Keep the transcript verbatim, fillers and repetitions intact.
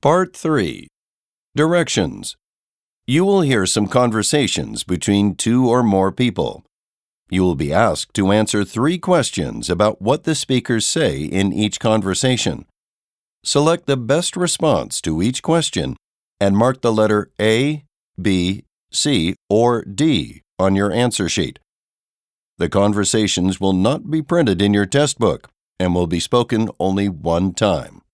Part three. Directions. You will hear some conversations between two or more people. You will be asked to answer three questions about what the speakers say in each conversation. Select the best response to each question and mark the letter A, B, C, or D on your answer sheet. The conversations will not be printed in your test book and will be spoken only one time.